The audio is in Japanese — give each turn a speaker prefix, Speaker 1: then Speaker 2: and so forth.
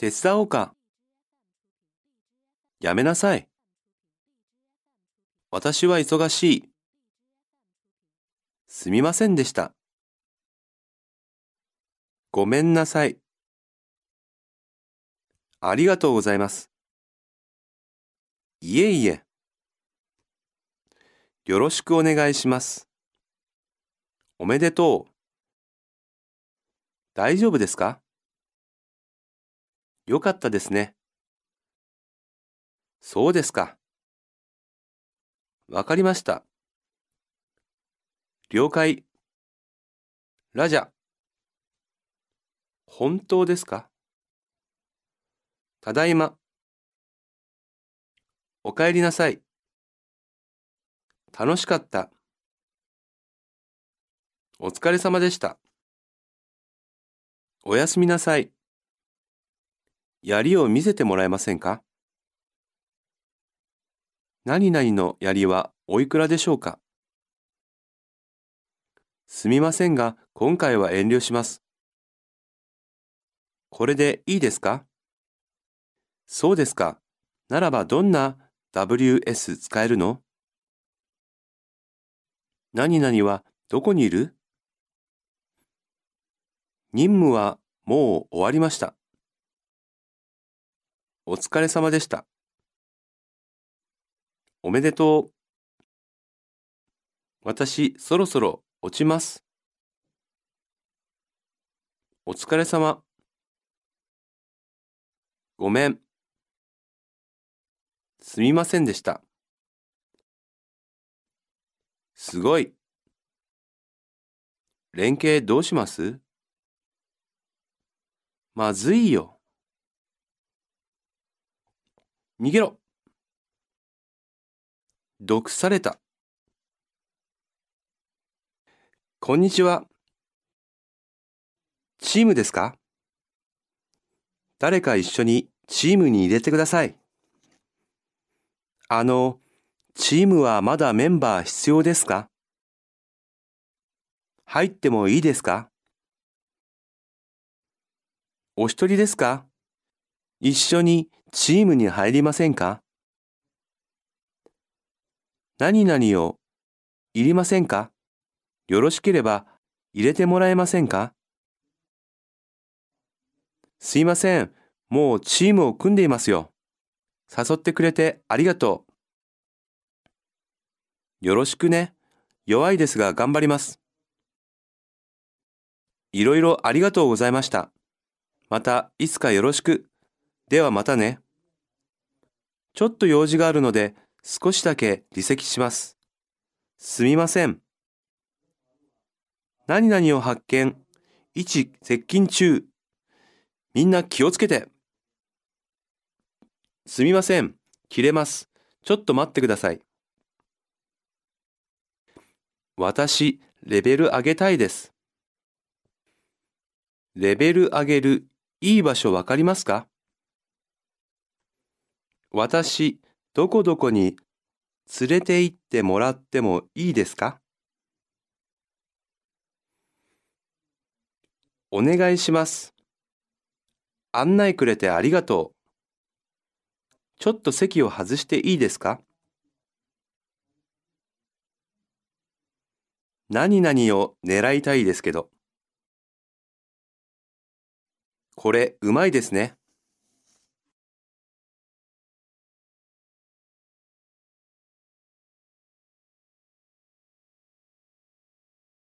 Speaker 1: 手伝おうか。やめなさい。私は忙しい。すみませんでした。ごめんなさい。ありがとうございます。いえいえ。よろしくお願いします。おめでとう。大丈夫ですか？よかったですね。そうですか。わかりました。了解。ラジャ。本当ですか？ただいま。おかえりなさい。楽しかった。お疲れ様でした。おやすみなさい。槍を見せてもらえませんか？何々の槍はおいくらでしょうか？すみませんが、今回は遠慮します。これでいいですか？そうですか。ならばどんな WS 使えるの？何々はどこにいる？任務はもう終わりました。お疲れ様でした。おめでとう。私、そろそろ落ちます。お疲れ様。ごめん。すみませんでした。すごい。連携どうします？まずいよ。逃げろ。毒された。こんにちは。チームですか？誰か一緒にチームに入れてください。チームはまだメンバー必要ですか？入ってもいいですか？お一人ですか？一緒にチームに入りませんか？何々をいりませんか？よろしければ入れてもらえませんか？すいません。もうチームを組んでいますよ。誘ってくれてありがとう。よろしくね。弱いですが頑張ります。いろいろありがとうございました。またいつかよろしく。ではまたね。ちょっと用事があるので少しだけ離席します。すみません。何々を発見。位置接近中。みんな気をつけて。すみません。切れます。ちょっと待ってください。私、レベル上げたいです。レベル上げるいい場所わかりますか？私、どこどこに連れて行ってもらってもいいですか？お願いします。案内くれてありがとう。ちょっと席を外していいですか？何々を狙いたいですけど。これ、うまいですね。